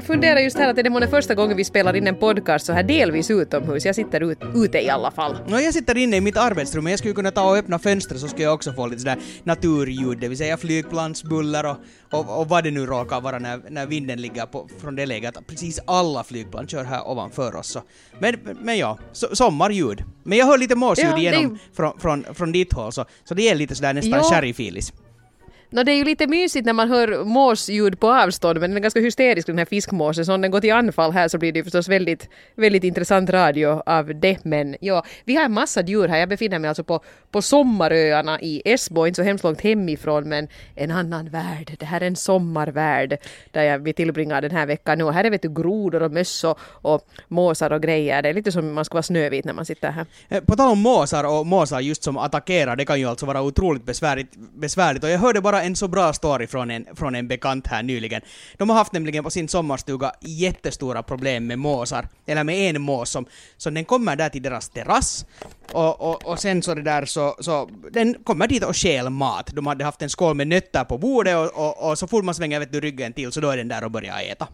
jag funderar just här att det är första gången vi spelar in en podcast så här delvis utomhus. Jag sitter ute i alla fall. Jag sitter inne i mitt arbetsrum, men jag skulle kunna ta och öppna fönstret så skulle jag också få lite sådär naturljud, det vill säga flygplansbuller och vad det nu råkar vara när vinden ligger från det läget. Precis alla flygplan kör här ovanför oss. Så. Men ja, sommarljud. Men jag hör lite måsljud igenom från ditt håll, så det är lite sådär nästan sherryfilis. Det är ju lite mysigt när man hör måsljud på avstånd, men den är ganska hysterisk den här fiskmåsen. Så om den går till anfall här så blir det förstås väldigt, väldigt intressant radio av det. Men ja, vi har en massa djur här. Jag befinner mig alltså på Sommaröarna i Esbo, inte så hemskt långt hemifrån, men en annan värld. Det här är en sommarvärld där vi tillbringar den här veckan nu. Här är grodor och möss och måsar och grejer. Det är lite som man ska vara snövit när man sitter här. På tal om måsar just som attackerar, det kan ju alltså vara otroligt besvärligt. Och jag hörde bara en så bra story från en bekant här nyligen. De har haft nämligen på sin sommarstuga jättestora problem med måsar. Eller med en mås som den kommer där till deras terrass. Och sen så det där så den kommer dit och stjäl mat. De hade haft en skål med nötter på bordet och så fort man svänger ryggen till så då är den där och börjar äta.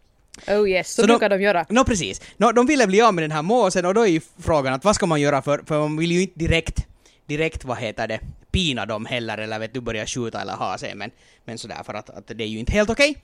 Oh yes, så brukar de göra. Precis. De ville bli av med den här måsen och då är ju frågan att vad ska man göra för man vill ju inte direkt pina dem heller eller börja skjuta eller ha sig, men sådär för att det är ju inte helt okej.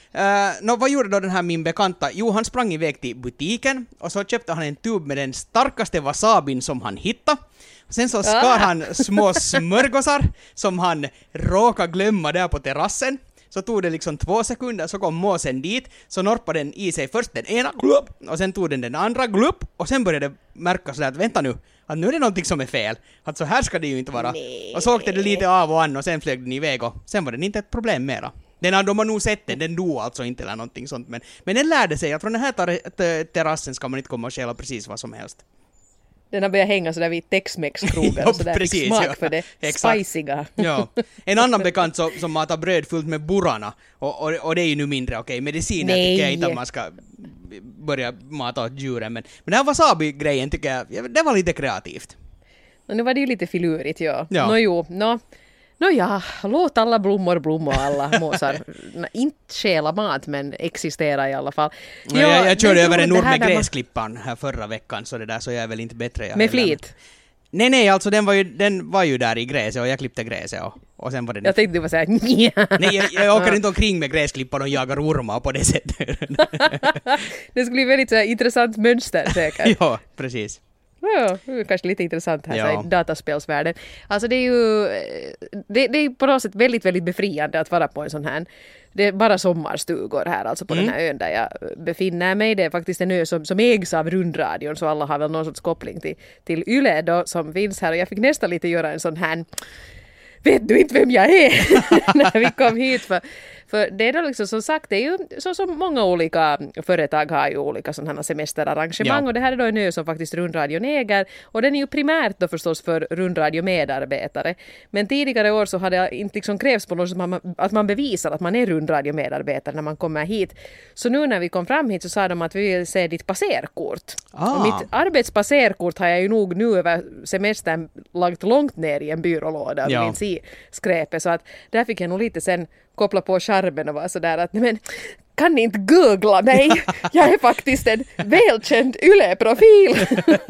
Vad gjorde då den här min bekanta? Jo, han sprang iväg till butiken och så köpte han en tub med den starkaste wasabin som han hittade. Sen så skar han små smörgåsar som han råkade glömma där på terrassen. Så tog det liksom 2 sekunder, så kom måsen dit, så norpade den i sig först den ena glupp, och sen tog den andra glupp, och sen började det märka sådär att vänta nu, att nu är det någonting som är fel. Att så här ska det ju inte vara. Nej. Och så åkte det lite av och an och sen flög den iväg och sen var det inte ett problem mera. De har nog sett den dog alltså inte eller någonting sånt, men den lärde sig att från den här terrassen ska man inte komma och stjäla precis vad som helst. Den har börjat hänga sådär vid Tex-Mex-krogar och sådär fick smak för det spiciga. Ja. En annan bekant som matar bröd fullt med burrarna och det är ju nu mindre okej. Mediciner tycker jag inte att man ska börja mata åt djuren, men den här wasabi-grejen tycker jag, det var lite kreativt. Nu var det ju lite filurigt, ja. Låt alla blommor blomma, alla måsar. Inte stjäla mat, men existera i alla fall. Jag körde över en ord med gräsklippan här förra veckan, så det där så jag är väl inte bättre. Med flit? Nej, alltså den var ju där i gräset och jag klippte gräset och sen var det... Jag tänkte du var såhär... Nej, jag åker inte omkring med gräsklippan och jagar ormar på det sättet. Det skulle bli väldigt såhär intressant mönster säkert. Ja, precis. Ja, kanske lite intressant här i dataspelsvärlden. Alltså det är ju det är på något sätt väldigt, väldigt befriande att vara på en sån här. Det är bara sommarstugor här alltså på den här ön där jag befinner mig. Det är faktiskt en ö som ägs av rundradion, så alla har väl någon sorts koppling till Yle då, som finns här. Och jag fick nästan lite göra en sån här... Vet du inte vem jag är? När vi kom hit. För det är då liksom, som sagt, det är ju så som många olika företag har ju olika sådana semesterarrangemang. Ja. Och det här är då en ö som faktiskt rundradion äger. Och den är ju primärt då förstås för rundradiomedarbetare. Men tidigare år så hade det inte liksom krävs på något att man bevisar att man är rundradiomedarbetare när man kommer hit. Så nu när vi kom fram hit så sa de att vi vill se ditt passerkort. Och mitt arbetspasserkort har jag ju nog nu över semestern lagt långt ner i en byrålåda och inte se skräpet. Så att där fick jag nog lite sen koppla på skärmen och vara sådär att men kan ni inte googla mig? Jag är faktiskt en välkänd Yle-profil.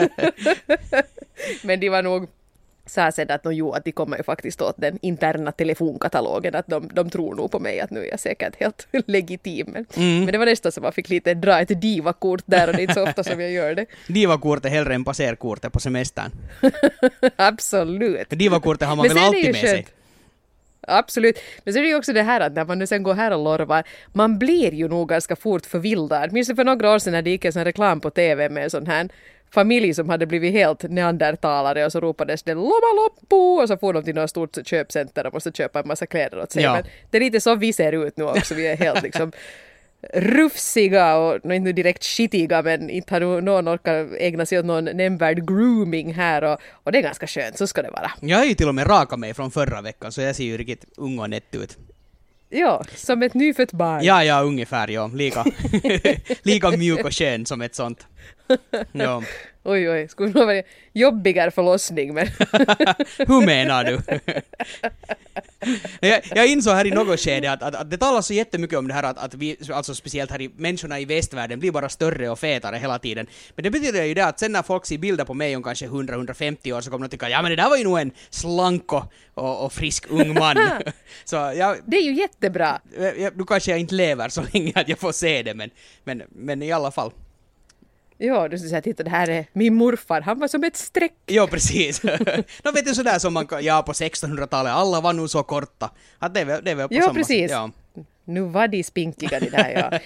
Men de var nog sa sen att att de kommer ju faktiskt åt den interna telefonkatalogen, att de tror nog på mig att nu är jag säkert helt legitim. Men det var nästan som man fick lite dra ett divakort där och det är inte så ofta som jag gör det. Divakortet hellre än passerkortet på semestern. Absolut. Divakortet har man väl alltid med sig. Absolut. Men så är det ju också det här att när man nu sen går här och lorvar, man blir ju nog ganska fort förvildad. Minns det för några år sedan när det gick en sån reklam på TV med en sån här familj som hade blivit helt neandertalare och så ropades det lomma loppu och så får de till något stort köpcenter och måste köpa en massa kläder åt sig. Ja. Men det är lite så vi ser ut nu också. Vi är helt liksom rufsiga och inte nu direkt skitiga, men inte har någon orkar ägna sig åt någon nämnvärd grooming här och det är ganska skönt, så ska det vara. Jag har ju till och med rakat mig från förra veckan så jag ser ju riktigt ung och nätt ut. Ja, som ett nyfött barn. Ja, ungefär, ja. Lika mjuk och skön som ett sånt. Ja. Oj, skulle det vara jobbigare förlossning, men... Hur menar du? Jag insåg här i något skede att det talas så jättemycket om det här att vi, alltså speciellt här i människorna i västvärlden, blir bara större och fetare hela tiden. Men det betyder ju det att sen när folk ser bilder på mig om kanske 100-150 år så kommer de tycka ja men det där var ju nog en slank och frisk ung man. Så det är ju jättebra. Nu kanske jag inte lever så länge att jag får se det, men i alla fall. Ja, du skulle säga, titta, det här är min morfar, han var som ett streck. Ja, precis. De vet ju sådär som man, på 1600-talet, alla var nog så korta. Att det är väl på ja, samma precis. sätt. Ja, precis. Nu var de spinkiga det där, ja.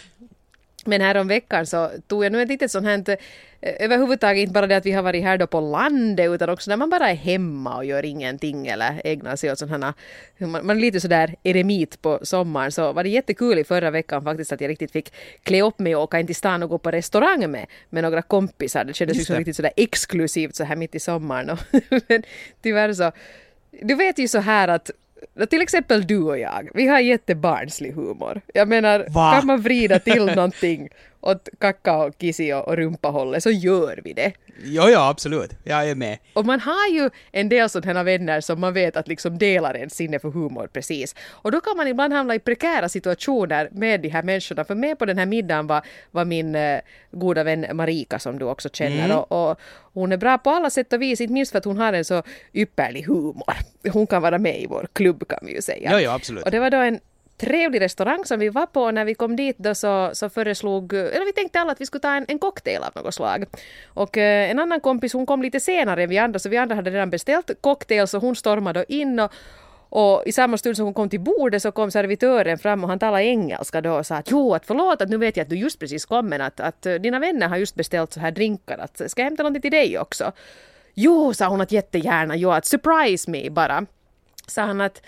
Men här om veckan så tog jag nu ett litet sånt här, överhuvudtaget inte bara det att vi har varit här då på landet utan också när man bara är hemma och gör ingenting eller ägnar sig åt sådana här, man är lite sådär eremit på sommaren, så var det jättekul i förra veckan faktiskt att jag riktigt fick klä upp mig och åka in till stan och gå på restaurang med några kompisar. Det kändes liksom riktigt sådär exklusivt så här mitt i sommaren. Men tyvärr så, du vet ju så här att till exempel du och jag, vi har jättebarnslig humor. Jag menar, kan man vrida till någonting åt kacka och kissi och rumpahållet så gör vi det. Ja, absolut. Jag är med. Och man har ju en del sådana vänner som man vet att liksom delar en sinne för humor precis. Och då kan man ibland hamna i prekära situationer med de här människorna. För med på den här middagen var min goda vän Marika som du också känner. Och hon är bra på alla sätt och vis, inte minst för att hon har en så ypperlig humor. Hon kan vara med i vår klubb kan vi ju säga. Ja, absolut. Och det var då en trevlig restaurang som vi var på. När vi kom dit då så föreslog, eller vi tänkte alla att vi skulle ta en cocktail av något slag. Och en annan kompis, hon kom lite senare än vi andra, så vi andra hade redan beställt cocktail, så hon stormade då in och i samma stund som hon kom till bordet så kom servitören fram och han talade engelska då och sa att jo, att förlåt att nu vet jag att du just precis kom, men att dina vänner har just beställt så här drinkar, att ska jag hämta någonting till dig också? Jo, sa hon, att jättegärna, jo, att surprise me bara. Sa han att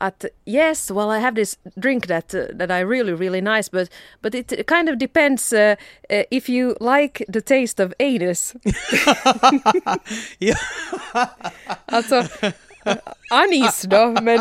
yes, well, I have this drink that I really nice, but it kind of depends if you like the taste of anus. Alltså, anis då, men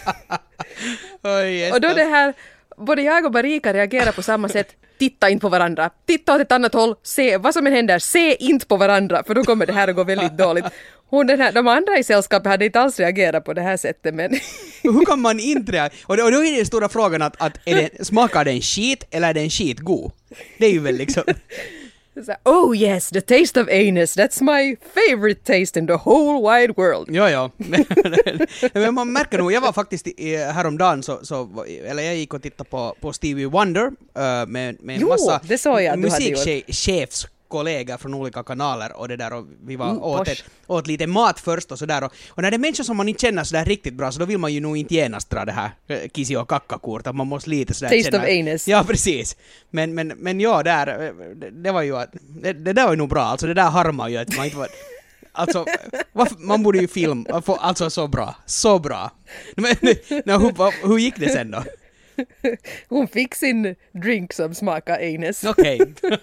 och då det här, både jag och Marika reagerar på samma sätt. Titta inte på varandra, titta åt ett annat håll, se vad som än händer, se inte på varandra, för då kommer det här att gå väldigt dåligt. De andra i sällskapet hade inte alls reagerat på det här sättet, men hur kan man inte reagera? Och då är den stora frågan att smakar den skit eller är den skit god? Det är ju väl liksom oh yes, the taste of anus, that's my favorite taste in the whole wide world. Ja. Men man märker nog, jag var faktiskt häromdagen eller jag gick och tittade på Stevie Wonder med en massa musikchefskollegor från olika kanaler och det där, och vi var åt lite mat först och sådär, och när det är människor som man inte känner sådär riktigt bra, så då vill man ju nog inte genast dra det här kissi och kackakort, att man måste lite sådär taste of anus. Ja, precis. Men ja, det var ju det där var ju nog bra, alltså det där harmar ju att man inte var alltså, man borde ju filma, alltså så bra. Men hur gick det sen då? Hon fick sin drink som smakar anus. Okej.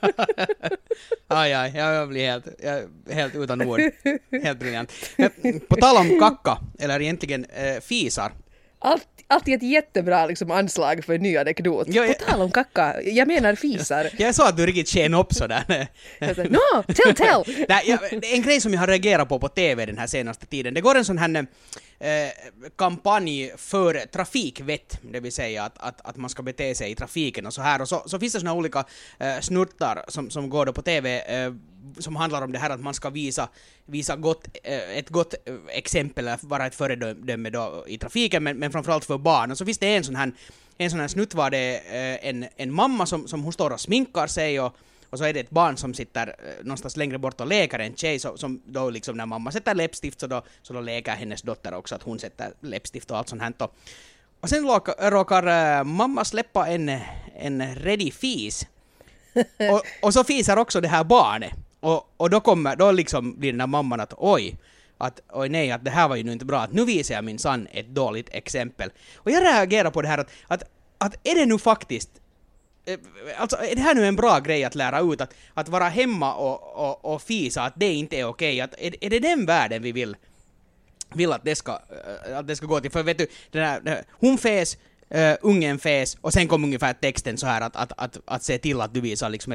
Jag blir helt utan ord. Helt briljant. På tal om kacka, eller egentligen fisar. Alltid ett jättebra liksom, anslag för en ny anekdot. På tal om kacka, jag menar fisar. Jag sa att du riktigt känn upp sådär. No, tell! En grej som jag har reagerat på TV den här senaste tiden, det går en sån här kampanj för trafikvett, det vill säga att man ska bete sig i trafiken och så här, och så finns det såna olika snurtar som går då på TV som handlar om det här att man ska visa ett gott exempel, vara ett föredöme då i trafiken, men framförallt för barn. Och så finns det en sån här snutt var det en mamma som hon står och sminkar sig, och så är det ett barn som sitter någonstans längre bort och leker en tjej, som då liksom när mamma sätter läppstift så då leker hennes dotter också att hon sätter läppstift och allt sånt här. Och sen råkar mamma släppa en redig fis. och så fiser också det här barnet. Och då liksom blir den här mamman att oj nej, att det här var ju nu inte bra, att nu visar jag min son ett dåligt exempel. Och jag reagerar på det här att är det nu faktiskt, alltså är det här nu en bra grej att lära ut, att vara hemma och fisa, att det inte är okej, att är det den världen vi vill att det ska gå till? För vet du, hon fes, ungen fes och sen kom ungefär texten så här att se till att du visar liksom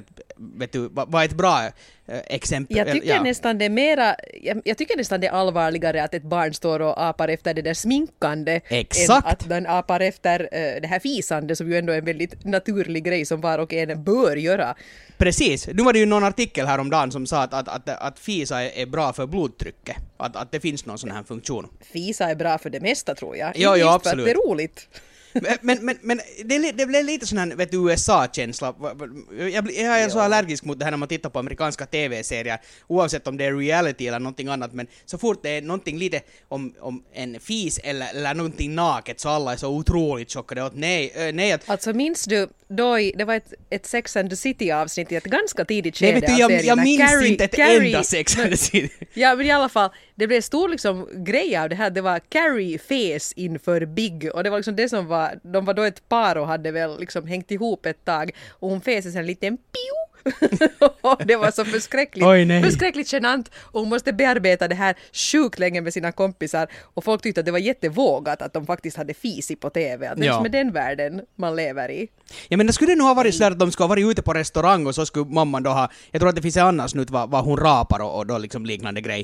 vad ett bra exempel. Jag tycker nästan det är mera, jag tycker nästan det är allvarligare att ett barn står och apar efter det där sminkande. Exakt. Än att den apar efter det här fisande som ju ändå är en väldigt naturlig grej som var och en bör göra. Precis. Nu var det ju någon artikel här om dagen som sa att fisa är bra för blodtrycket. Att det finns någon sån här funktion. Fisa är bra för det mesta tror jag. Jo, absolut. Det är roligt. Men det blev lite sån här, vet du, USA-känsla. Jag är så allergisk mot det här när man tittar på amerikanska tv-serier, oavsett om det är reality eller någonting annat, men så fort det är någonting lite om en fis eller någonting naket så alla är så otroligt chockade åt nej. Alltså minns du, det var ett Sex and the City-avsnitt i ett ganska tidigt skede av serien. Jag minns inte ett enda Sex and the City. Ja, men i alla fall, det blev stor liksom grej av det här. Det var Carrie fes inför Big och det var liksom det som var, de var då ett par och hade väl liksom hängt ihop ett tag och hon fes en liten piu. Det var så förskräckligt genant och hon måste bearbeta det här sjukt länge med sina kompisar och folk tyckte att det var jättevågat att de faktiskt hade fis på tv. Att det är med den världen man lever i. Ja, men det skulle nog ha varit så att de skulle ha varit ute på restaurang och så skulle mamman då ha, jag tror att det finns en annan snutt vad hon rapar och då liksom liknande grej.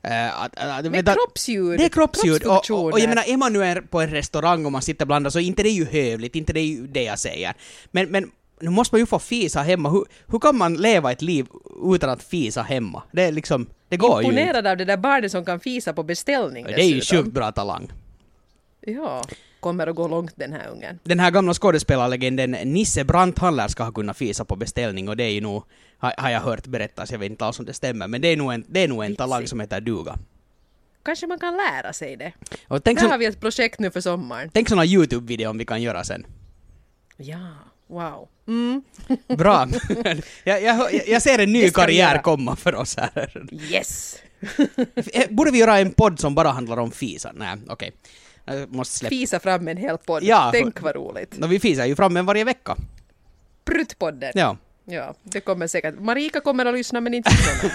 Med kroppsljud. Det är kroppsljud och jag menar, är man nu på en restaurang och man sitter bland så inte det är ju hövligt, inte det är ju det jag säger. Men nu måste man ju få fisa hemma. Hur kan man leva ett liv utan att fisa hemma? Det är liksom, det går ju inte. Imponerad av det där barnet som kan fisa på beställning. Det är ju sjukt bra talang. Ja, kommer att gå långt den här ungen. Den här gamla skådespelarlegenden Nisse Brandhaller ska ha kunnat fisa på beställning och det är ju nog, har jag hört berättas, jag vet inte alls om det stämmer, men det är nog en talang som heter duga. Kanske man kan lära sig det. Och där har vi ett projekt nu för sommaren. Tänk såna YouTube-video om vi kan göra sen. Ja. Wow. Bra. Jag ser en ny karriär komma för oss här. Yes. Borde vi göra en podd som bara handlar om fisa? Nej, okej. Fisa fram en hel podd. Ja, tänk vad roligt. Vi fisar ju fram en varje vecka. Pruttpodden. Ja. Ja, det kommer säkert. Marika kommer att lyssna men inte så.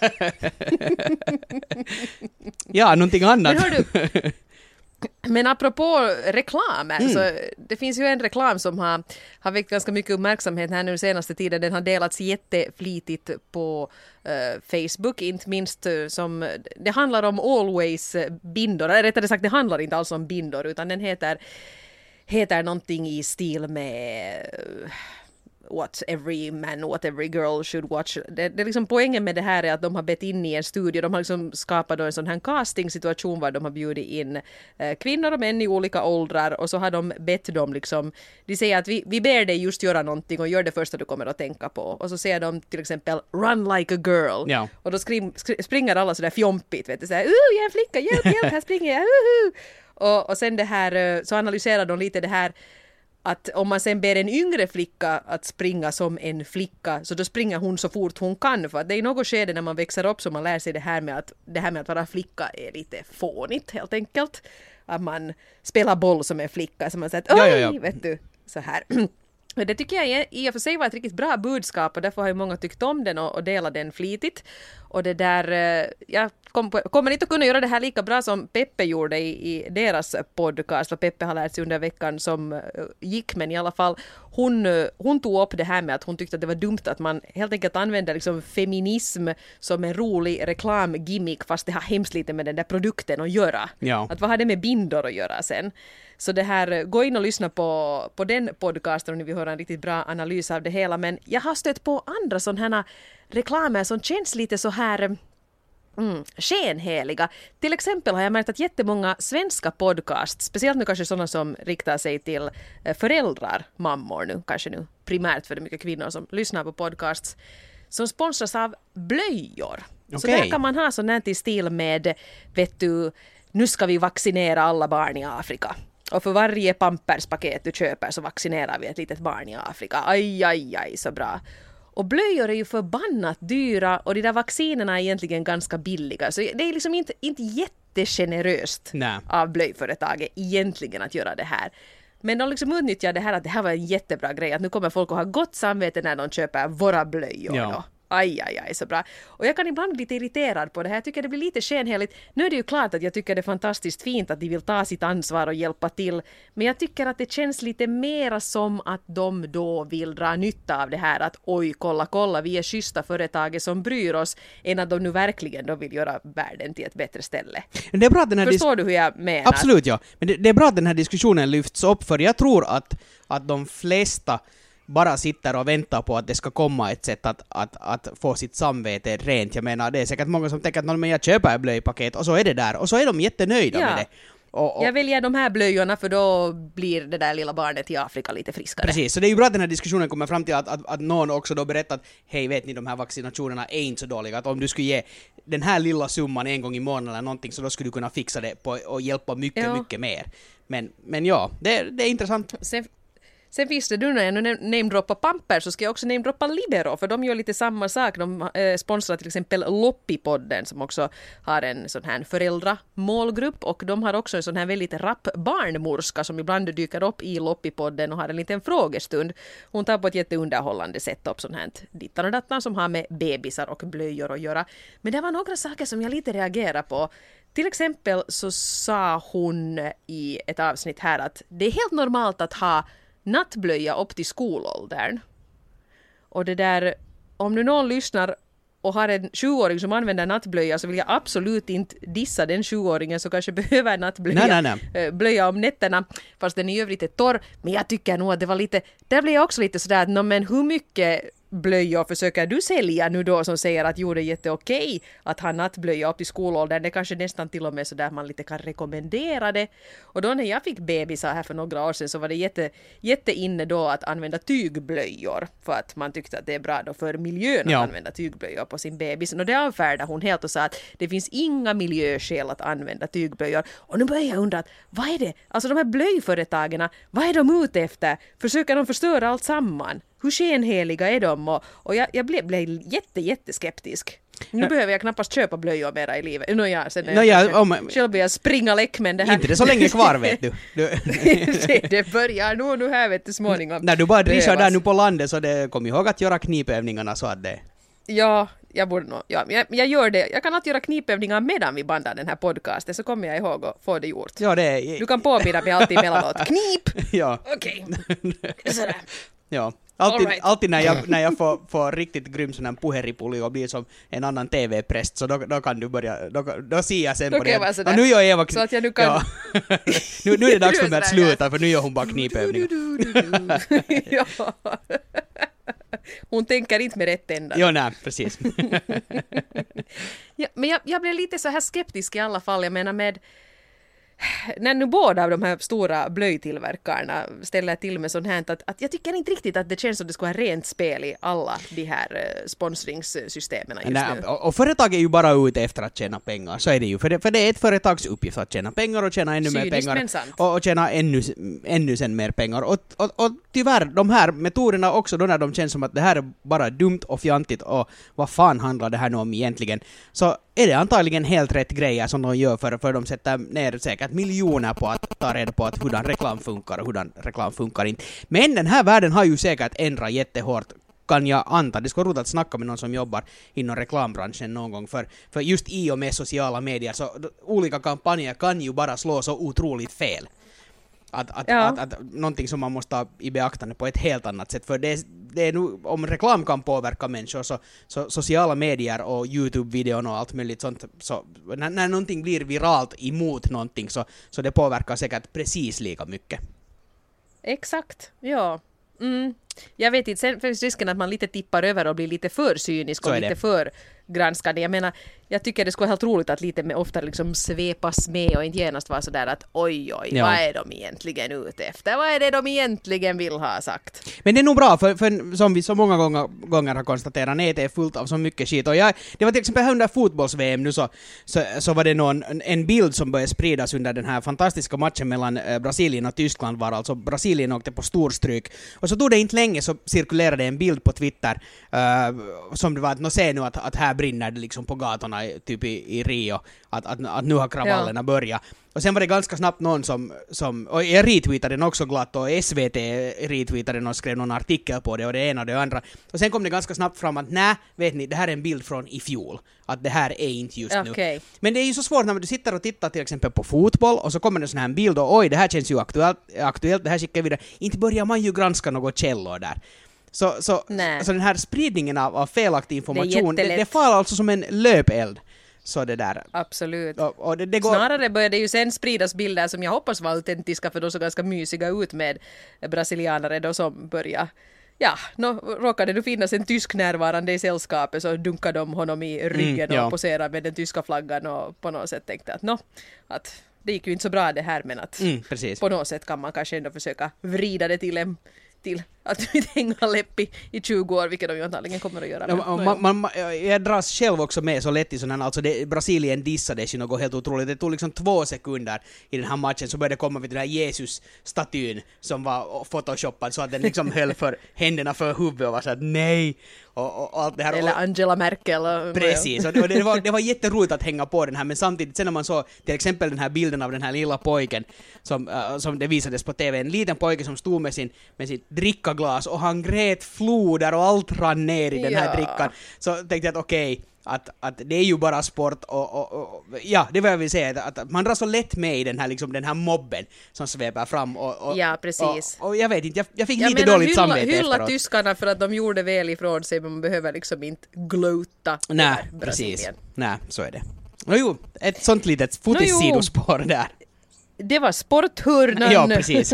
Ja, någonting annat. Men hör du, men apropå reklamer, så det finns ju en reklam som har väckt ganska mycket uppmärksamhet här nu senaste tiden. Den har delats jätteflitigt på Facebook, inte minst som det handlar om Always bindor. Eller rättare sagt, det handlar inte alls om bindor utan den heter någonting i stil med what every man, what every girl should watch. Det är liksom poängen med det här är att de har bett in i en studio. De har liksom skapat en sån här casting-situation var de har bjudit in kvinnor och män i olika åldrar och så har de bett dem liksom, de säger att vi ber dig just göra någonting och gör det första du kommer att tänka på. Och så säger de till exempel run like a girl. Ja. Och då springer alla sådär fjompigt, vet du, såhär, jag är en flicka, hjälp, här springer jag, och sen det här, så analyserar de lite det här att om man sen ber en yngre flicka att springa som en flicka så då springer hon så fort hon kan, för att det är något skede när man växer upp så man lär sig det här med att vara flicka är lite fånigt helt enkelt. Att man spelar boll som en flicka så man säger att oj, vet du, så här. Det tycker jag i och för sig var ett riktigt bra budskap och därför har ju många tyckt om den och delat den flitigt. Och det där, jag kommer inte att kunna göra det här lika bra som Peppe gjorde i deras podcast, vad Peppe har lärt sig under veckan som gick, men i alla fall hon tog upp det här med att hon tyckte att det var dumt att man helt enkelt använder liksom feminism som en rolig reklamgimmick fast det har hemskt lite med den där produkten att göra. Ja. Att vad har det med bindor att göra sen? Så det här, gå in och lyssna på den podcasten om ni vill höra en riktigt bra analys av det hela. Men jag har stött på andra sådana här reklamer som känns lite så här skenheliga. Till exempel har jag märkt att jättemånga svenska podcasts, speciellt nu kanske sådana som riktar sig till föräldrar, mammor nu, kanske nu primärt för det är mycket kvinnor som lyssnar på podcasts, som sponsras av blöjor. Okay. Så där kan man ha sån här till stil med, vet du, nu ska vi vaccinera alla barn i Afrika. Och för varje pamperspaket du köper så vaccinerar vi ett litet barn i Afrika. Aj, så bra. Och blöjor är ju förbannat dyra och de där vaccinerna är egentligen ganska billiga. Så det är liksom inte jättegeneröst av blöjföretaget egentligen att göra det här. Men de liksom utnyttjar det här att det här var en jättebra grej. Att nu kommer folk att ha gott samvete när de köper våra blöjor. Ja. Aj, så bra. Och jag kan ibland bli lite irriterad på det här. Jag tycker det blir lite skenheligt. Nu är det ju klart att jag tycker det är fantastiskt fint att de vill ta sitt ansvar och hjälpa till. Men jag tycker att det känns lite mera som att de då vill dra nytta av det här. Att oj, kolla, vi är schyssta företaget som bryr oss. Än att de nu verkligen då vill göra världen till ett bättre ställe. Det är bra att den här Förstår du hur jag menar? Absolut, ja. Men det är bra att den här diskussionen lyfts upp, för jag tror att de flesta bara sitter och väntar på att det ska komma ett sätt att få sitt samvete rent. Jag menar, det är säkert många som tänker att jag köper ett blöjpaket och så är det där. Och så är de jättenöjda med det. Jag väljer de här blöjorna för då blir det där lilla barnet i Afrika lite friskare. Precis, så det är ju bra att den här diskussionen kommer fram till att någon också då berättar att hej, vet ni, de här vaccinationerna är inte så dåliga. Att om du skulle ge den här lilla summan en gång i månaden eller någonting, så då skulle du kunna fixa det och hjälpa mycket mer. Men ja, det är intressant. Sen finns det, när jag nu namedroppar Pampers, så ska jag också namedroppa Libero, för de gör lite samma sak. De sponsrar till exempel Loppipodden, som också har en sån här föräldramålgrupp, och de har också en sån här väldigt rapp barnmorska som ibland dyker upp i Loppipodden och har en liten frågestund. Hon tar på ett jätteunderhållande sätt upp sån här dittan och dattan som har med bebisar och blöjor att göra. Men det var några saker som jag lite reagerar på. Till exempel så sa hon i ett avsnitt här att det är helt normalt att ha nattblöja upp till skolåldern. Och det där, om nu någon lyssnar och har en 20-åring som använder nattblöja, så vill jag absolut inte dissa den 20-åringen som kanske behöver nattblöja. Blöja om nätterna, fast den i övrigt är torr. Men jag tycker nog att det var lite, där blir jag också lite sådär att men hur mycket blöjor försöker du sälja nu då, som säger att jo, det är jätteokej att ha nattblöja upp till skolåldern. Det kanske nästan till och med så där man lite kan rekommendera det. Och då när jag fick bebisar här för några år sedan, så var det jätte inne då att använda tygblöjor, för att man tyckte att det är bra då för miljön att använda tygblöjor på sin bebis. Och det avfärdade hon helt och sa att det finns inga miljöskäl att använda tygblöjor. Och nu börjar jag undra att vad är det? Alltså de här blöjföretagen, vad är de ute efter? Försöker de förstöra allt samman? Hur skenheliga är de? Och jag blev jätteskeptisk. Nu behöver jag knappast köpa blöjor mera i livet. Själv blir jag springa läck, men det här... Inte det så länge kvar, vet du. Det börjar nu här, vet du, småningom. När du bara drishar där nu på landet, så kom ihåg att göra knipövningarna så att det... Ja, jag borde nog... Ja, jag gör det. Jag kan alltid göra knipövningar medan vi bandar den här podcasten, så kommer jag ihåg att få det gjort. Ja, det är... Du kan påminna mig alltid emellanåt. Knip! Ja. Okej. Sådär. Ja. Alltid när jag får riktigt grym sån här puheripulli och blir som en annan TV-präst, så då kan du börja, då ser jag sen på det. Och nu gör Eva... Så att jag nu kan... Ja. nu är det dags för mig att sluta, för nu gör hon bara knipövningar. Ja. Hon tänker inte med rätt ända. Jo, nej, precis. Ja, men jag blev lite så här skeptisk i alla fall. Jag menar med... När nu båda av de här stora blöjtillverkarna ställer till med sånt här, att jag tycker inte riktigt att det känns som det ska vara rent spel i alla de här sponsringssystemen just nu. Och företag är ju bara ute efter att tjäna pengar, så är det ju. För det är ett företags uppgift att tjäna pengar och tjäna ännu mer pengar. Och tjäna ännu sen mer pengar. Och tyvärr, de här metoderna också, då när de känns som att det här är bara dumt och fjantigt och vad fan handlar det här nu om egentligen, så är det antagligen helt rätt grejer som de gör, för de sätter ner säkert miljoner på att ta reda på att hurdan reklam funkar och hurdan reklam funkar inte. Men den här världen har ju säkert ändrat jättehårt, kan jag anta. Det ska vara roligt att snacka med någon som jobbar inom reklambranschen någon gång, för just i och med sociala medier så olika kampanjer kan ju bara slå så otroligt fel. Att någonting som man måste ta i beaktande på ett helt annat sätt. För det är nu, om reklam kan påverka människor, så sociala medier och YouTube-videon och allt möjligt sånt, så när någonting blir viralt emot någonting, så det påverkar säkert precis lika mycket. Exakt, ja. Jag vet inte, sen finns risken att man lite tippar över och blir lite för cynisk och lite för granskande. Jag menar, jag tycker det skulle vara helt roligt att lite ofta liksom svepas med och inte genast vara sådär att oj, vad är de egentligen ute efter? Vad är det de egentligen vill ha sagt? Men det är nog bra, för som vi så många gånger har konstaterat, nätet är fullt av så mycket skit. Och det var till exempel under fotbolls-VM nu, så var det en bild som började spridas under den här fantastiska matchen mellan Brasilien och Tyskland, var alltså Brasilien åkte på storstryk. Och så tog det inte länge så cirkulerade en bild på Twitter som det var att se nu att här brinner det liksom på gatorna typ i Rio, att nu har kravallerna börjat. Och sen var det ganska snabbt någon som och jag retweetade den också glatt, och SVT retweetade den och skrev någon artikel på det, och det ena och det andra. Och sen kom det ganska snabbt fram att nej, vet ni, det här är en bild från i fjol. Att det här är inte just nu. Men det är ju så svårt när du sitter och tittar till exempel på fotboll, och så kommer det sån här bild och oj, det här känns ju aktuellt, det här skickar vidare. Inte börjar man ju granska något källor där. Så den här spridningen av felaktig information, det faller alltså som en löpeld. Så det där. Absolut. Och det går... Snarare började ju sen spridas bilder som jag hoppas var autentiska, för de såg ganska mysiga ut med brasilianare då som började. Ja, råkade det finnas en tysk närvarande i sällskapet, så dunkade de honom i ryggen och poserade med den tyska flaggan, och på något sätt tänkte att det gick ju inte så bra det här, men att på något sätt kan man kanske ändå försöka vrida det till att inte hänga läpp i 20 år, vilket de ju antagligen kommer att göra. Jag dras själv också med så lätt i sådana, alltså Brasilien dissades ju något helt otroligt. Det tog liksom 2 sekunder i den här matchen, så började det komma vid den här Jesus-statyn som var photoshoppad så att den liksom höll för händerna för huvudet och var så att nej, och allt det här. Eller Angela Merkel. Precis, och det var jätteroligt att hänga på den här, men samtidigt sen när man såg till exempel den här bilden av den här lilla pojken som det visades på TV, en liten pojke som stod med sitt drickaglas och han grät floder och allt rann ner i den här drickan, så tänkte jag att okej, att det är ju bara sport och ja, det var jag vill säga, att man drar så lätt med i den här mobben som sveper fram ja, precis. Och jag vet inte, jag fick lite dåligt samvete efteråt. Hylla tyskarna för att de gjorde väl ifrån sig, men man behöver liksom inte glöta. Nej, precis. Nej, så är det. Jo, ett sånt litet fotissidospår där. Det var sporthörnan. Ja, precis.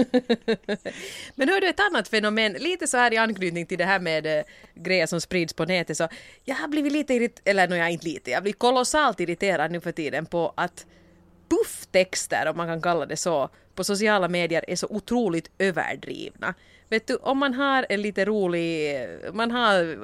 Men hör du ett annat fenomen, lite så här i anknytning till det här med grejer som sprids på nätet, så jag har blivit jag blir kolossalt irriterad nu för tiden på att pufftexter, om man kan kalla det så, på sociala medier är så otroligt överdrivna. Vet du, om man har en lite rolig, man har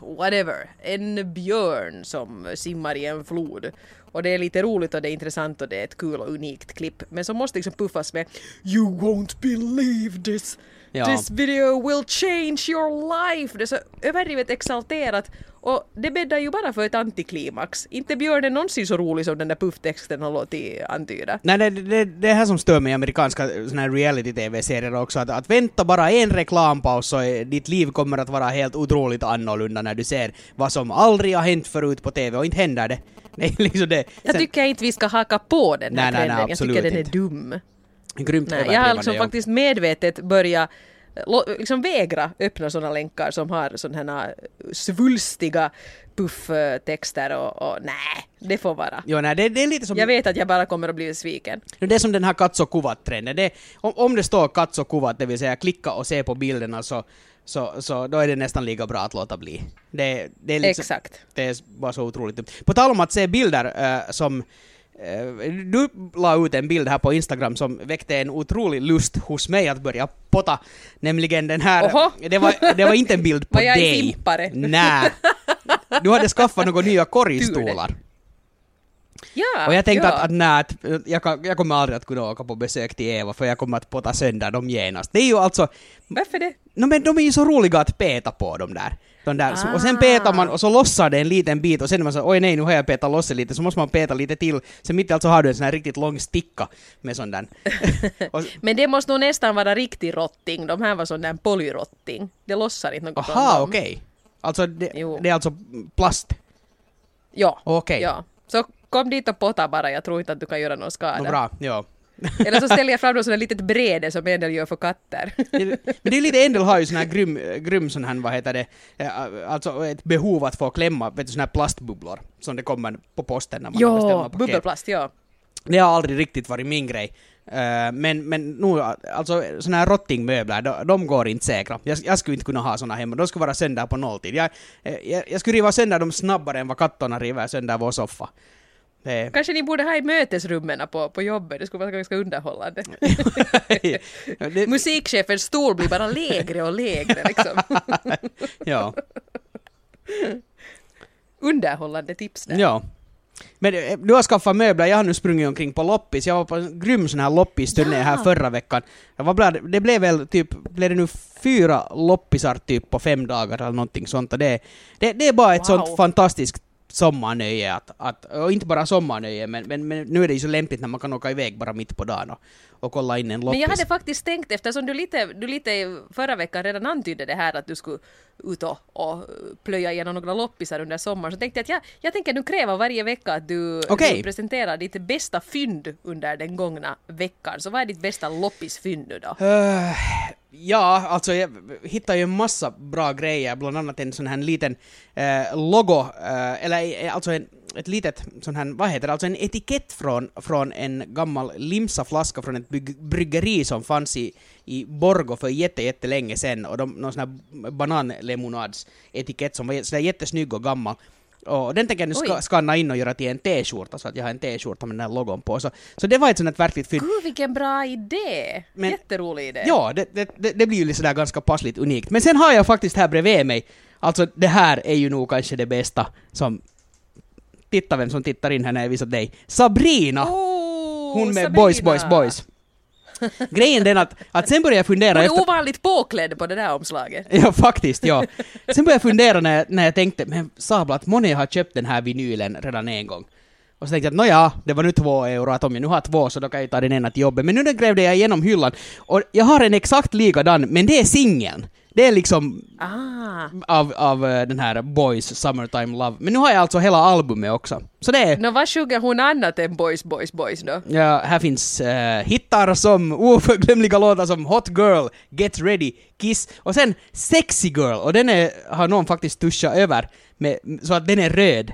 en björn som simmar i en flod, och det är lite roligt och det är intressant och det är ett kul och unikt klipp, men så måste liksom puffas med "You won't believe this. This video will change your life." Det är så överdrivet exalterat, och det bäddar ju bara för ett antiklimax. Inte björnen någonsin så rolig som den där pufftexten har låtit antyda. Nej, det här som stör mig i amerikanska såna här reality-tv-serier också, att vänta bara en reklampaus så ditt liv kommer att vara helt otroligt annorlunda när du ser vad som aldrig har hänt förut på tv, och inte händer det. Nej, liksom det. Jag tycker inte vi ska haka på den här trenden. Jag tycker den är dum. Grymt. Jag har liksom faktiskt medvetet börjat liksom vägra öppna sådana länkar som har sådana här svulstiga pufftexter och nej, det får vara. Jo, nej, det är lite som... Jag vet att jag bara kommer att bli sviken. Det är som den här Katso Kuvat-trenden. Om det står Katso Kuvat, det vill säga klicka och se på bilderna, så då är det nästan lika bra att låta bli. Det är liksom, exakt. Det är bara så otroligt. På tal om att se bilder som... Du la ut en bild här på Instagram som väckte en otrolig lust hos mig att börja potta. Nämligen den här... Det var inte en bild på dig. Var jag en fimpare? Nej. Du hade skaffat några nya korgstolar. Ja, och jag tänkte att jag kommer aldrig att kunna åka på besök till Eva, för jag kommer att potta sönder dem genast. Det är ju alltså... Varför det? Men de är ju så roliga att peta på dem där. Och sen petar man och så lossar det en liten bit, och sen är man så oj nej, nu har jag petat loss lite, så måste man peta lite till. Sen mitt alltså har du en sån här riktigt lång sticka med sån där. Men det måste nog nästan vara riktig rotting. De här var sån där polyrotting. Det lossar inte något från dem. Aha, okej. Alltså det är alltså plast? Ja. Okej. Ja. Så kom dit och potta bara, jag tror inte att du kan göra någon skada. Bra, ja. Eller så ställer jag fram något sådant litet bräde som en del gör för katter. Men det är lite, en del har ju sån här grym sån här, vad heter det, alltså ett behov att få klämma, vet du, sån här plastbubblor som det kommer på posten när man beställer paket. Bubbelplast, ja. Det har aldrig riktigt varit min grej. Men nu, alltså såna här rottingmöbler, de går inte säkra. Jag skulle inte kunna ha såna hemma. De skulle vara sönder på nolltid. Jag skulle riva sönder dem snabbare än vad kattorna river sönder vår soffa. Kanske ni borde ha i mötesrummen på jobbet. Det skulle vara ganska underhållande. Musikchefens stol blir bara lägre och lägre liksom. Ja. Underhållande tips där. Ja. Men du har skaffat möbler, jag har nu sprungit omkring på loppis. Jag var på en grym sån här loppisturné här förra veckan. Det blev väl typ, blev det nu 4 loppisar typ på 5 dagar eller någonting sånt. Och det är bara ett sånt fantastiskt sommarnöje och inte bara sommarnöje, men nu är det ju så lämpligt när man kan åka iväg bara mitt på dagen och kolla in en loppis. Men jag hade faktiskt tänkt, eftersom du lite förra veckan redan antydde det här att du skulle ut och plöja igenom några loppisar under sommaren, så tänkte jag att jag tänker nu kräva varje vecka att du presenterar ditt bästa fynd under den gångna veckan. Så vad är ditt bästa loppisfynd nu då? Ja, alltså jag hittade ju en massa bra grejer, bland annat en sån här liten logo, eller alltså ett litet sån här, vad heter det, alltså en etikett från en gammal limsaflaska från ett bryggeri som fanns i Borgå för jättelänge sedan, och någon sån här bananlemonads etikett som var sådär jättesnygg och gammal. Och den tänker jag nu skanna in och göra till en t-skjorta, så att jag har en t-skjorta med den här logon på. Så det var ett sånt verkligt fynd. Gud, vilken bra idé! Jätterolig idé. Ja, det blir ju sådär ganska passligt unikt. Men sen har jag faktiskt här bredvid mig, alltså det här är ju nog kanske det bästa som... Titta vem som tittar in här när jag visar dig. Sabrina! Hon med Sabrina. Boys. Grejen är att sen började jag fundera... Hon är ovanligt påklädd på det där omslaget. Ja, faktiskt, ja. Sen började jag fundera när jag tänkte, men sabla, att Moni har köpt den här vinylen redan en gång. Och så tänkte jag att det var nu 2 euro, att om jag nu har 2 så då kan jag ta den ena till jobbet. Men nu grävde jag igenom hyllan och jag har en exakt likadan, men det är singeln. Det är liksom av den här Boys Summertime Love. Men nu har jag alltså hela albumet också. Så det är... Vad sjunger hon annat än Boys då? Ja, här finns hittar som oförglömliga låtar som Hot Girl, Get Ready, Kiss. Och sen Sexy Girl. Och den har någon faktiskt tuschat över så att den är röd.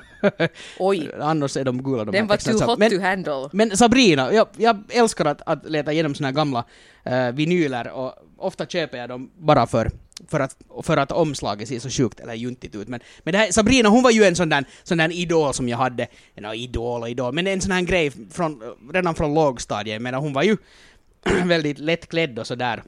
Oj. Annars är de gula. Den var too hot to handle. Men Sabrina, jag älskar att leta igenom såna här gamla vinyler, och ofta köper jag dem bara för att omslaget ser så sjukt eller juntigt ut. Men det här, Sabrina, hon var ju en sån där idol som jag hade. Idol. Men en sån här grej redan från lågstadiet. Men hon var ju väldigt lättklädd och sådär.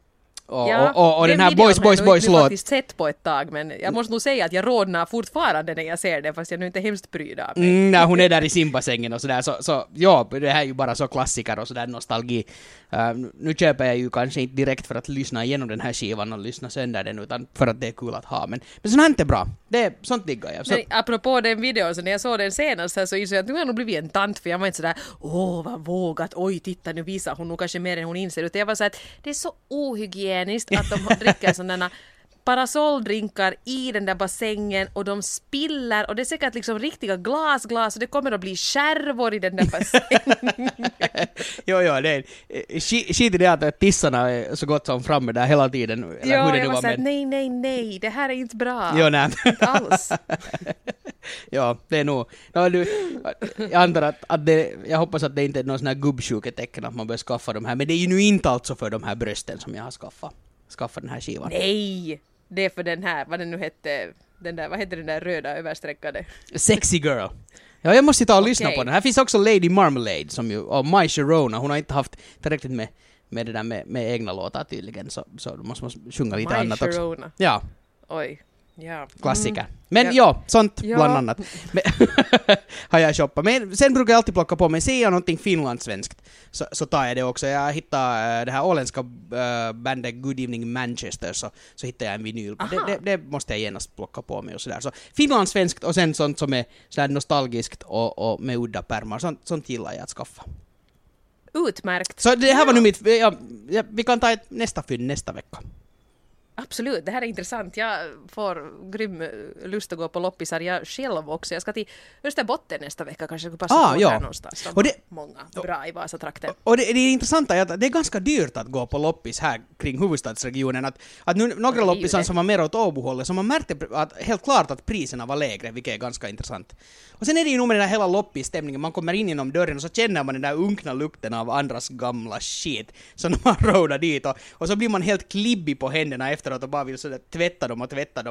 Och den här Boys låt. Jag har faktiskt sett på ett tag, men jag måste nog säga att jag rodnar fortfarande när jag ser det, fast jag nu inte hemskt pryd av mig. Nej, hon är där i simbassängen och sådär, så ja, det här är ju bara så klassiker och sådär nostalgi. Nu köper jag ju kanske inte direkt för att lyssna igenom den här skivan och lyssna sönder den, utan för att det är kul att ha. Men sånt här är inte bra. Sånt diggar jag. Men apropå den videon, så när jag såg den senast så insåg jag att nu har jag nog blivit en tant, för jag var inte sådär, vad vågat, oj titta nu visar hon nog kanske mer än hon inser, utan jag var så att det är så ohygieniskt att de dricker sådana parasolldrinkar i den där bassängen och de spiller, och det är säkert liksom riktiga glas och det kommer att bli skärvor i den där bassängen. Jo, det är skit i det att tissarna är så gott som framme där hela tiden. Eller ja, jag var såhär, nej, det här är inte bra. Jo, nej. Inte alls. Ja, det är nog... jag antar att det... Jag hoppas att det inte är någon sån här gubbsjuketecken att man bör skaffa de här, men det är ju nu inte alltså för de här brösten som jag har skaffa den här skivan. Nej, det är för den här, vad den nu hette, vad heter den där röda översträckade? Sexy Girl. Ja, jag måste ta och lyssna på den. Här finns också Lady Marmalade som ju, och My Sharona. Hon har inte haft tillräckligt med det där med egna låtar tydligen, så då måste man sjunga lite annat också. My Sharona. Ja. Oj. Ja. Klassiker. Men sånt bland annat har jag shoppat. Men sen brukar jag alltid plocka på mig, ser jag någonting finlandssvenskt så tar jag det också. Jag hittar det här åländska bandet Good Evening Manchester, så hittar jag en vinyl. Det måste jag genast plocka på mig och sådär. Så finlandssvenskt och sen sånt som är sådär nostalgiskt och med udda pärmar. Sånt gillar jag att skaffa. Utmärkt. Så det här var nu mitt... vi kan ta ett nästa fynd nästa vecka. Absolut, det här är intressant. Jag får grym lust att gå på loppisar jag själv också. Jag ska till Österbotten nästa vecka, kanske passa på där någonstans. Och det, många bra i Vasatrakten. Och det är intressant att det är ganska dyrt att gå på loppis här kring huvudstadsregionen. Att nu några loppisar som var mer åt Åbohållet, så man märkte helt klart att priserna var lägre, vilket är ganska intressant. Och sen är det ju nog med den här hela loppisstämningen. Man kommer in genom dörren och så känner man den där unkna lukten av andras gamla shit. Så när man rådar dit och så blir man helt klibbig på händerna efteråt och bara vill sådär tvätta dem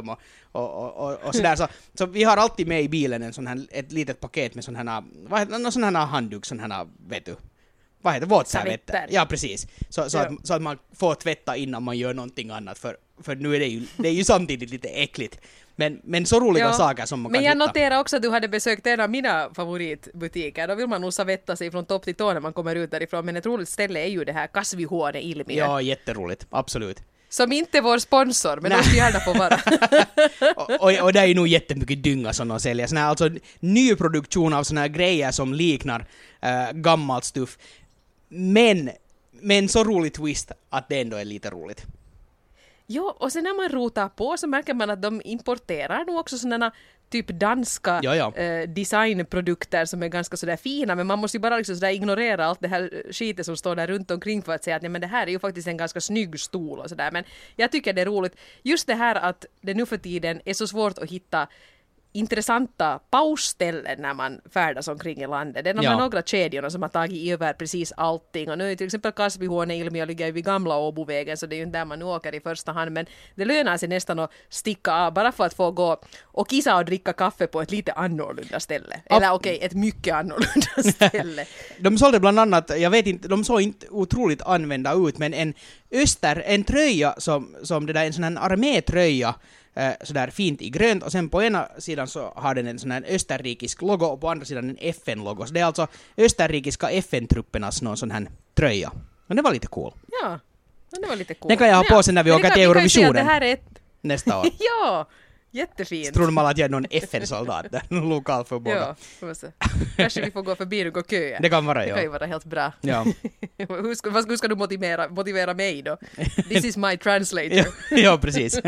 och sådär. Så vi har alltid med i bilen ett litet paket med sån här handduk, sån här, vet du. Vad heter det? Våtservetter. Ja, precis. Så att man får tvätta innan man gör någonting annat. För för nu är det är ju samtidigt lite äckligt. Men så roliga saker som man kan hitta. Men jag noterar också att du hade besökt en av mina favoritbutiker. Då vill man nog savetta sig från topp till tå när man kommer ut därifrån. Men ett roligt ställe är ju det här Kasvihuone Ilmiö. Ja, jätteroligt. Absolut. Som inte är vår sponsor, men de ska gärna få vara. och det är ju nog jättemycket dynga som de säljer. Sån här, alltså nyproduktion av såna här grejer som liknar gammalt stuff. Men så roligt twist att det ändå är lite roligt. Jo, och sen när man rotar på så märker man att de importerar nog också sådana typ danska designprodukter som är ganska sådär fina, men man måste ju bara liksom sådär ignorera allt det här skitet som står där runt omkring för att säga att nej, men det här är ju faktiskt en ganska snygg stol och sådär. Men jag tycker det är roligt. Just det här att det nu för tiden är så svårt att hitta intressanta pausställen när man färdas omkring i landet. Det är de här några kedjorna som har tagit över precis allting. Och nu är till exempel Kasvihuone Ilmiö ligger vid gamla Åbovägen, så det är ju inte där man nu åker i första hand. Men det lönar sig nästan att sticka av bara för att få gå och kissa och dricka kaffe på ett lite annorlunda ställe. Eller ett mycket annorlunda ställe. De sålde bland annat, jag vet inte, de såg inte otroligt använda ut, men en tröja som det där, en sån här armétröja, sådär fint i grönt, och sen på ena sidan så har den en sån här österrikisk logo och på andra sidan en FN-logo. Så det är alltså österrikiska FN-truppernas någon sån här tröja. Men det var lite cool. Ja, det var lite cool. Den kan jag ha på sen när vi åker till Eurovisionen. Det här är nästa år. Ja, jättefint. Så tror man att jag är någon FN-soldat där, någon lokal för båda. Ja, kanske vi får gå förbi och gå köa. Det kan vara, Det kan ju vara helt bra. Ja. Hur ska du motivera mig då? This is my translator. Ja, precis.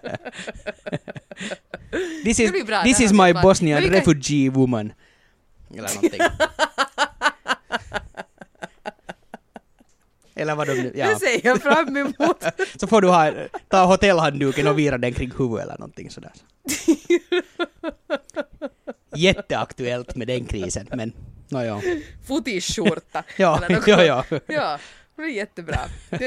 This is my Bosnian refugee woman. Eller någonting. Eller vad de nu... Ja. Det ser jag fram emot. Så får du ta hotellhandduken och vira den kring huvudet eller någonting sådär. Jätteaktuellt med den krisen, men ja. Fotiskjorta. Ja. Ja, det är jättebra.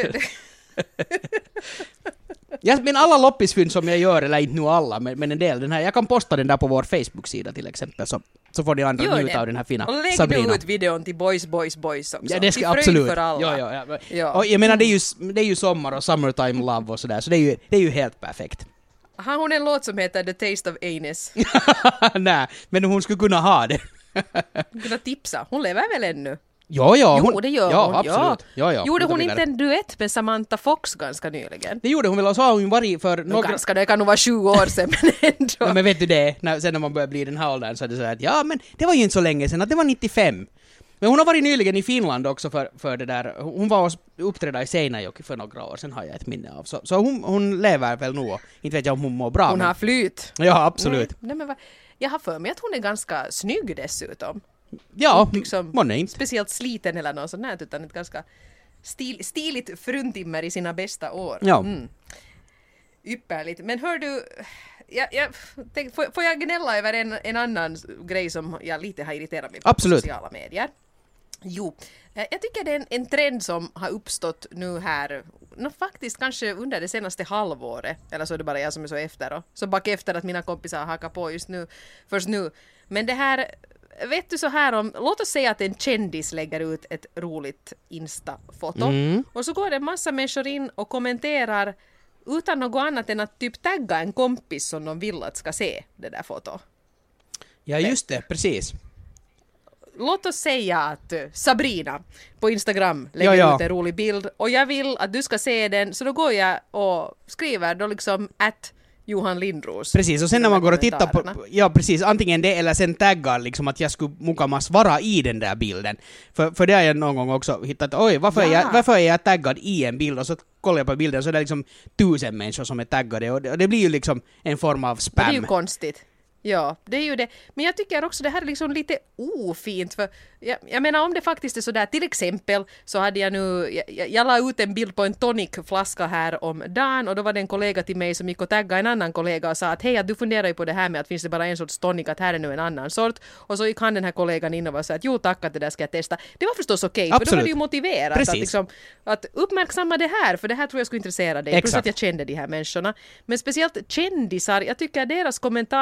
Men alla loppisfynd som jag gör, eller inte nu alla, men en del, den här, jag kan posta den där på vår Facebook-sida till exempel, så får ni andra njuta av den här fina Sabrina. Och lägg nu ut videon till Boys också. Ja, det ska absolut. För alla. Ja. Och jag menar, det är ju sommar och summertime love och sådär, så det är ju helt perfekt. Har hon en låt som heter The Taste of Anus? Nej, men hon skulle kunna ha det. Kunna tipsa. Hon lever väl ännu? Ja. Jo, det gör hon. Absolut. Ja. Gjorde hon inte en duett med Samantha Fox ganska nyligen? Det gjorde hon väl, och så har hon varit för några... Det kan nog vara 20 år sedan, men ändå. Ja, men vet du det, sen när man börjar bli den här åldern så är det så att ja, men det var ju inte så länge sedan, att det var 95. Men hon har varit nyligen i Finland också för det där. Hon var och uppträdda i Seinäjoki för några år sedan, har jag ett minne av. Så hon lever väl nog. Inte vet jag om hon mår bra. Hon har flyt. Ja, absolut. Nej, men jag har för mig att hon är ganska snygg dessutom. Ja, liksom, man är inte speciellt sliten eller något sånt här, utan ett ganska stiligt fruntimmer i sina bästa år. Ja. Ypperligt. Men hör du, får jag gnälla över en annan grej som jag lite har irriterat mig på sociala medier? Jo, jag tycker det är en trend som har uppstått nu här, faktiskt kanske under det senaste halvåret, eller så är det bara jag som är så efter och så bak efter att mina kompisar hakar på först nu. Men det här, vet du så här om, låt oss säga att en kändis lägger ut ett roligt Insta-foto och så går det en massa människor in och kommenterar utan något annat än att typ tagga en kompis som de vill att ska se det där fotot. Ja, just det, precis. Låt oss säga att Sabrina på Instagram lägger ut en rolig bild och jag vill att du ska se den, så då går jag och skriver då liksom @Johan Lindros. Precis, och sen när man går och tittar på, ja precis, antingen det eller sen taggar liksom att jag skulle mukamas vara i den där bilden. För det har jag någon gång också hittat, varför är jag taggad i en bild, och så kollar jag på bilden så är det liksom 1000 människor som är taggade och det blir ju liksom en form av spam. Det är ju konstigt. Ja, det är ju det. Men jag tycker också det här är liksom lite ofint, för jag menar om det faktiskt är sådär, till exempel så hade jag la ut en bild på en tonicflaska här om dagen och då var det en kollega till mig som gick och taggade en annan kollega och sa att hej, du funderar ju på det här med att finns det bara en sorts tonic, att här är nu en annan sort, och så gick han den här kollegan in och sa att jo tack, att det där ska jag testa. Det var förstås okej, för då var det ju motiverat att uppmärksamma det här, för det här tror jag skulle intressera dig. Plus att jag kände de här människorna. Men speciellt kändisar, jag tycker deras kommentarsfält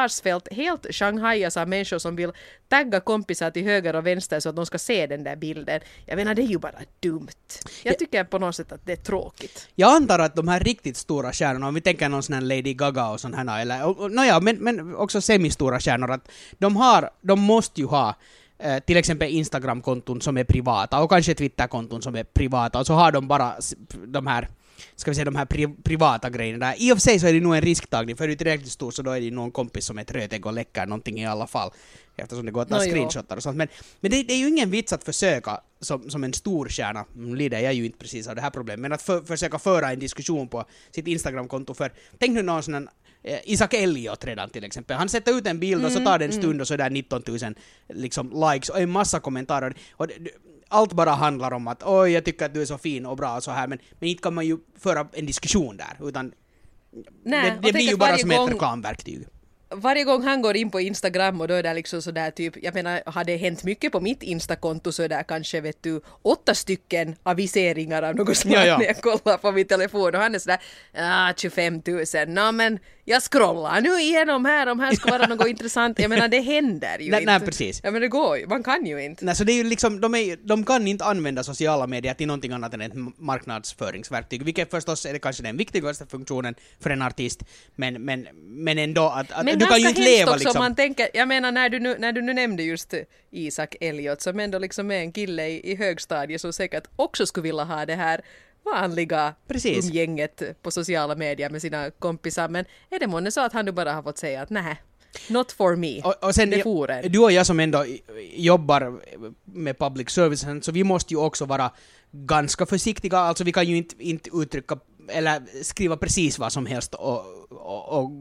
helt shanghajas av människor som vill tagga kompisar till höger och vänster så att de ska se den där bilden. Jag menar, det är ju bara dumt. Jag tycker på något sätt att det är tråkigt. Jag antar att de här riktigt stora stjärnorna, om vi tänker någon sån här Lady Gaga och sån här, eller, men också semistora stjärnor, att de måste ju ha till exempel Instagram-konton som är privata och kanske Twitter-konton som är privata, och så har de bara de här, ska vi säga, de här privata grejerna där. I och för sig så är det nog en risktagning, för är du tillräckligt stor så då är det någon kompis som är trötägg och läcker någonting i alla fall, eftersom det går att ta screenshotar och sånt. Men det är ju ingen vits att försöka som en stor stjärna, lider jag ju inte precis av det här problemet, men att försöka föra en diskussion på sitt Instagram-konto. För tänk nu någon sån här Isaac Elliot redan till exempel. Han sätter ut en bild och så tar det en stund och så är det 19 000 liksom, likes och en massa kommentarer. Och allt bara handlar om att oj, jag tycker att du är så fin och bra och så här, men inte kan man ju föra en diskussion där, utan det blir ju bara som ett reklamverktyg. Varje gång han går in på Instagram och då är det liksom sådär typ, jag menar, har det hänt mycket på mitt Instakonto så är det kanske, vet du, 8 stycken aviseringar av något slag när jag kollar på min telefon, och han är sådär 25 000, men jag scrollar nu igenom här, om här ska vara något intressant. Jag menar, det händer ju inte. Nej, precis. Ja, men det går ju, man kan ju inte. Nej, så det är ju liksom, de kan inte använda sociala medier till någonting annat än ett marknadsföringsverktyg, vilket förstås är det kanske den viktigaste funktionen för en artist, men ändå att men du kan ju inte leva också, liksom. Man tänker, jag menar, när du nu nämnde just Isaac Elliot, som ändå liksom är en kille i högstadiet som säkert också skulle vilja ha det här vanliga umgänget på sociala medier med sina kompisar, men är det månne så att han nu bara har fått säga att nej, not for me. Och sen, du och jag som ändå jobbar med public service, så vi måste ju också vara ganska försiktiga, alltså vi kan ju inte uttrycka eller skriva precis vad som helst och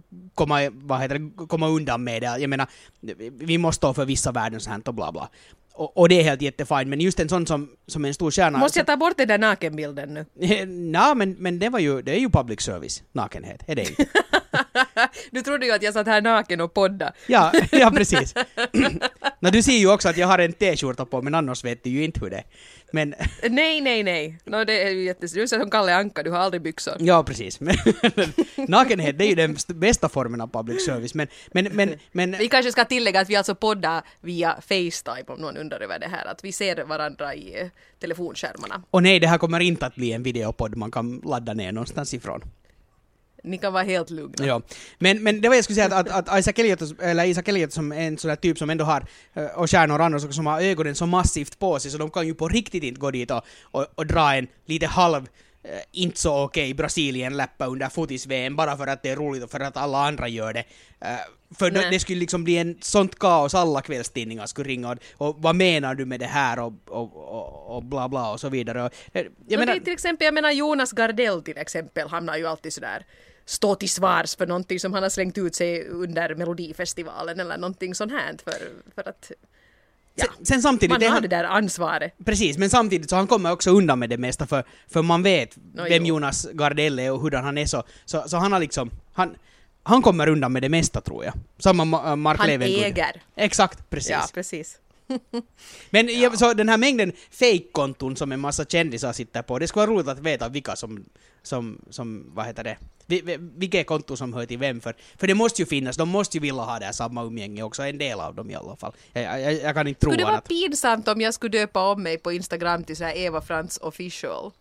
komma undan med det. Jag menar, vi måste stå för vissa värden så här och bla bla. Och det är helt jättefint, men just en sån som en stor stjärna... Måste jag ta bort den där nakenbilden nu? Nej, men det är ju public service, nakenhet, är det inte? Du trodde ju att jag satt här naken och podda. Ja, precis. Du ser ju också att jag har en t-skjorta på, men annars vet du ju inte hur det är. Men... Nej. Det är ju jättesnyggt. Du är som Kalle Anka, du har aldrig byxor. Ja, precis. Nakenhet, det är ju den bästa formen av public service. Men... Vi kanske ska tillägga att vi alltså poddar via FaceTime, om någon undrar över det här. Att vi ser varandra i telefonskärmarna. Och nej, det här kommer inte att bli en videopodd man kan ladda ner någonstans ifrån. Ni kan vara helt lugna. Ja. Men det var jag skulle säga att Isaac Elliot som är en sån där typ som ändå har och stjärnor andra som har ögonen så massivt på sig så de kan ju på riktigt inte gå dit och dra en lite halv inte så okej Brasilien-läppa under fotis-VM bara för att det är roligt och för att alla andra gör det. För det skulle liksom bli en sånt kaos, alla kvällstidningar skulle ringa och vad menar du med det här och bla bla och så vidare. Jag menar, till exempel, jag menar Jonas Gardell till exempel, han har ju alltid sådär stå till svars för någonting som han har slängt ut sig under Melodifestivalen eller någonting sånt här för att ja, sen samtidigt, man har det där ansvaret. Precis, men samtidigt så han kommer också undan med det mesta för man vet vem Jonas Gardell är och hur han är så han har liksom han kommer undan med det mesta tror jag. Samma Mark Levengood. Han äger. Exakt, precis. Ja, precis. Men så den här mängden fake-konton som en massa kändisar sitter på, det skulle vara roligt att veta vilka som vad heter det? Vilka konton som hör till vem för det måste ju finnas, de måste ju vilja ha det här samma umgänge också, en del av dem i alla fall. Jag kan inte tro skulle det vara att... pinsamt om jag skulle döpa om mig på Instagram till så här Eva Frans official?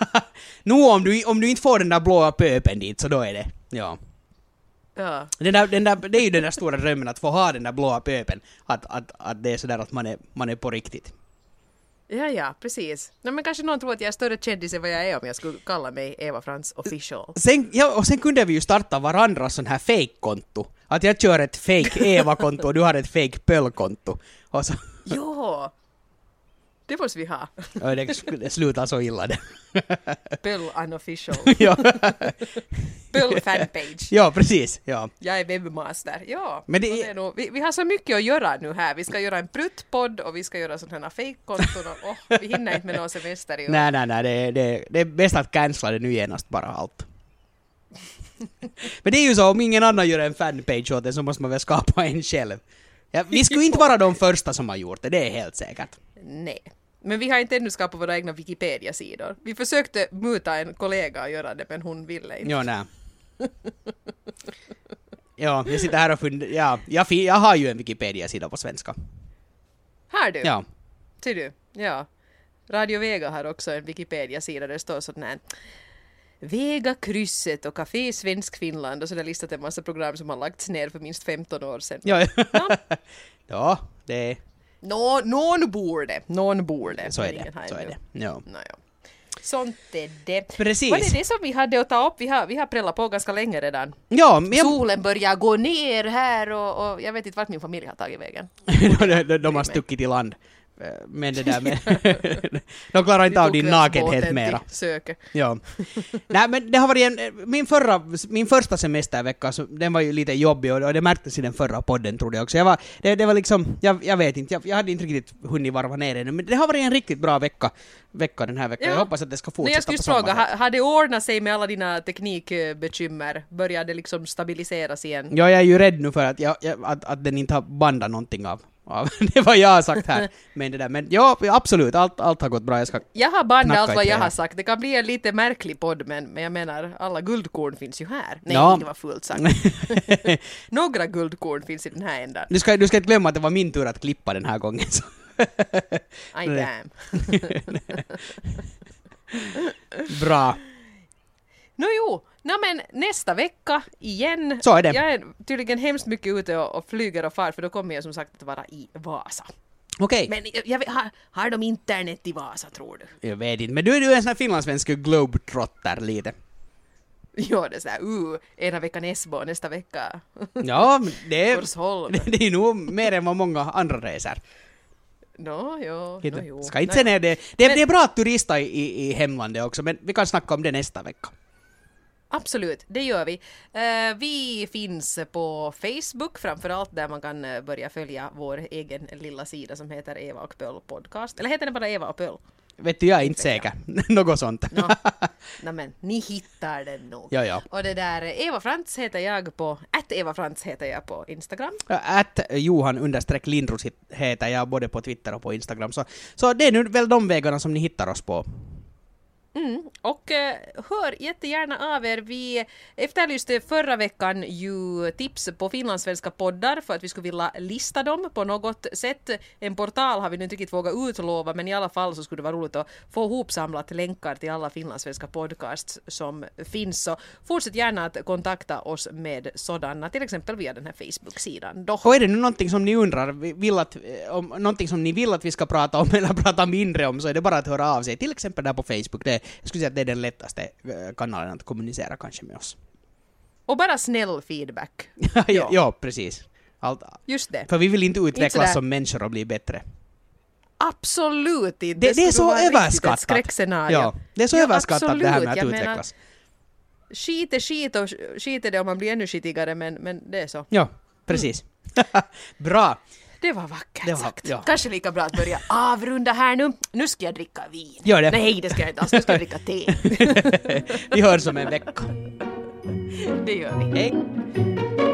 Om du inte får den där blåa pöpen dit så då är det, ja. Ja. Det är ju den där stora drömmen att få ha den där blåa pöpen, att det är sådär att man är på riktigt. Ja, precis. Men kanske någon tror att jag är större kändis än vad jag är om jag skulle kalla mig Eva Frans official. Sen kunde vi ju starta varandra sån här fake-konto. Att jag kör ett fake Eva-konto och du har ett fake Pöll-konto. Så... Jo, det måste vi ha. Det slutar så illa det. Pöll unofficial. Ja. Pöll fanpage. Ja, precis. Ja. Jag är webbmaster. Ja. Men vi har så mycket att göra nu här. Vi ska göra en pruttpodd och vi ska göra sådana här fake-konton och vi hinner inte med någon semester i år. Nej. Det är bäst att cancella det nu genast bara allt. Men det är ju så, om ingen annan gör en fanpage åt det så måste man väl skapa en själv. Ja, vi skulle inte vara de första som har gjort det, det är helt säkert. Nej. Men vi har inte ännu skapat våra egna Wikipedia-sidor. Vi försökte muta en kollega att göra det, men hon ville inte. Jo, nej. Ja, jag sitter här och funderar. Ja, jag har ju en Wikipedia-sida på svenska. Har du? Ja. Ser du? Ja. Radio Vega har också en Wikipedia-sida där det står sådär här Vega krysset och Café Svensk Finland och så där listat en massa program som har lagts ner för minst 15 år sedan. Ja, Ja. ja det är... Någon borde. Så är det. Så är det. Ja. Ja. Sånt är det. Precis. Var det det som vi hade att ta upp? Vi har prällat på ganska länge redan. Ja, men Solen börjar gå ner här och jag vet inte vart min familj har tagit vägen. de har stuckit i land. Men det där med... de klarar inte av din nakenhet mera. Ja. Nej, men det har varit min första semestervecka, så den var ju lite jobbig och det märktes i den förra podden, trodde jag också. Det var liksom, jag vet inte, jag hade inte riktigt hunnit varva ner ännu, men det har varit en riktigt bra vecka den här veckan. Ja. Jag hoppas att det ska fortsätta. Jag skulle fråga, har det ordnat sig med alla dina teknikbekymmer? Börjar det liksom stabiliseras igen? Ja, jag är ju rädd nu för att den inte har bandat någonting av. Det var jag har sagt här. Men ja, absolut, allt har gått bra. Jag har bandat allt vad jag har sagt. Det kan bli en lite märklig podd, men jag menar, alla guldkorn finns ju här. Nej, ja. Det var fullt sagt. Några guldkorn finns i den här ändan. Du ska inte glömma att det var min tur att klippa den här gången. Så. I damn. Bra. Men nästa vecka igen. Så är det. Jag är tydligen hemskt mycket ute och flyger och far, för då kommer jag som sagt att vara i Vasa. Okej. Men har de internet i Vasa, tror du? Jag vet inte, men du är en sån här finlandssvensk globetrotter lite. Ja, det är såhär, ena veckan Esbo, nästa vecka ja, det är nog mer än vad många andra reser. Jo. Ska inte säga det. Det är bra att turista i hemlandet också, men vi kan snacka om det nästa vecka. Absolut, det gör vi. Vi finns på Facebook framförallt, där man kan börja följa vår egen lilla sida som heter Eva och Pöll podcast. Eller heter den bara Eva och Pöll? Vet du, jag är inte säker. Något sånt. Men ni hittar den nog. Ja. Och det där, Eva Frantz heter jag på, @EvaFrantz heter jag på Instagram. @Johan_Lindros heter jag både på Twitter och på Instagram. Så det är nu väl de vägarna som ni hittar oss på. Och hör jättegärna av er. Vi efterlyste förra veckan ju tips på finlandssvenska poddar för att vi skulle vilja lista dem på något sätt. En portal har vi nu inte riktigt vågat utlova, men i alla fall så skulle det vara roligt att få ihopsamlat länkar till alla finlandssvenska podcasts som finns. Så fortsätt gärna att kontakta oss med sådana, till exempel via den här Facebook-sidan. Och är det nu någonting som ni undrar, någonting som ni vill att vi ska prata om eller prata mindre om, så är det bara att höra av sig, till exempel där på Facebook. Jag skulle säga att det är den lättaste kanalen att kommunicera kanske med oss. Och bara snäll feedback. ja, precis. Just det. För vi vill inte utvecklas som människor och bli bättre. Absolut inte. Det är så överskattat. Skräckscenario. Ja, det är så överskattat det här med att utvecklas. Skit är det om man blir ännu skitigare, men det är så. Ja, precis. Bra. Det var vackert sagt. Ja. Kanske lika bra att börja avrunda här nu. Nu ska jag dricka vin. Gör det. Nej, det ska jag inte alls. Nu ska jag dricka te. Vi hörs om en vecka. Det gör vi. Hej.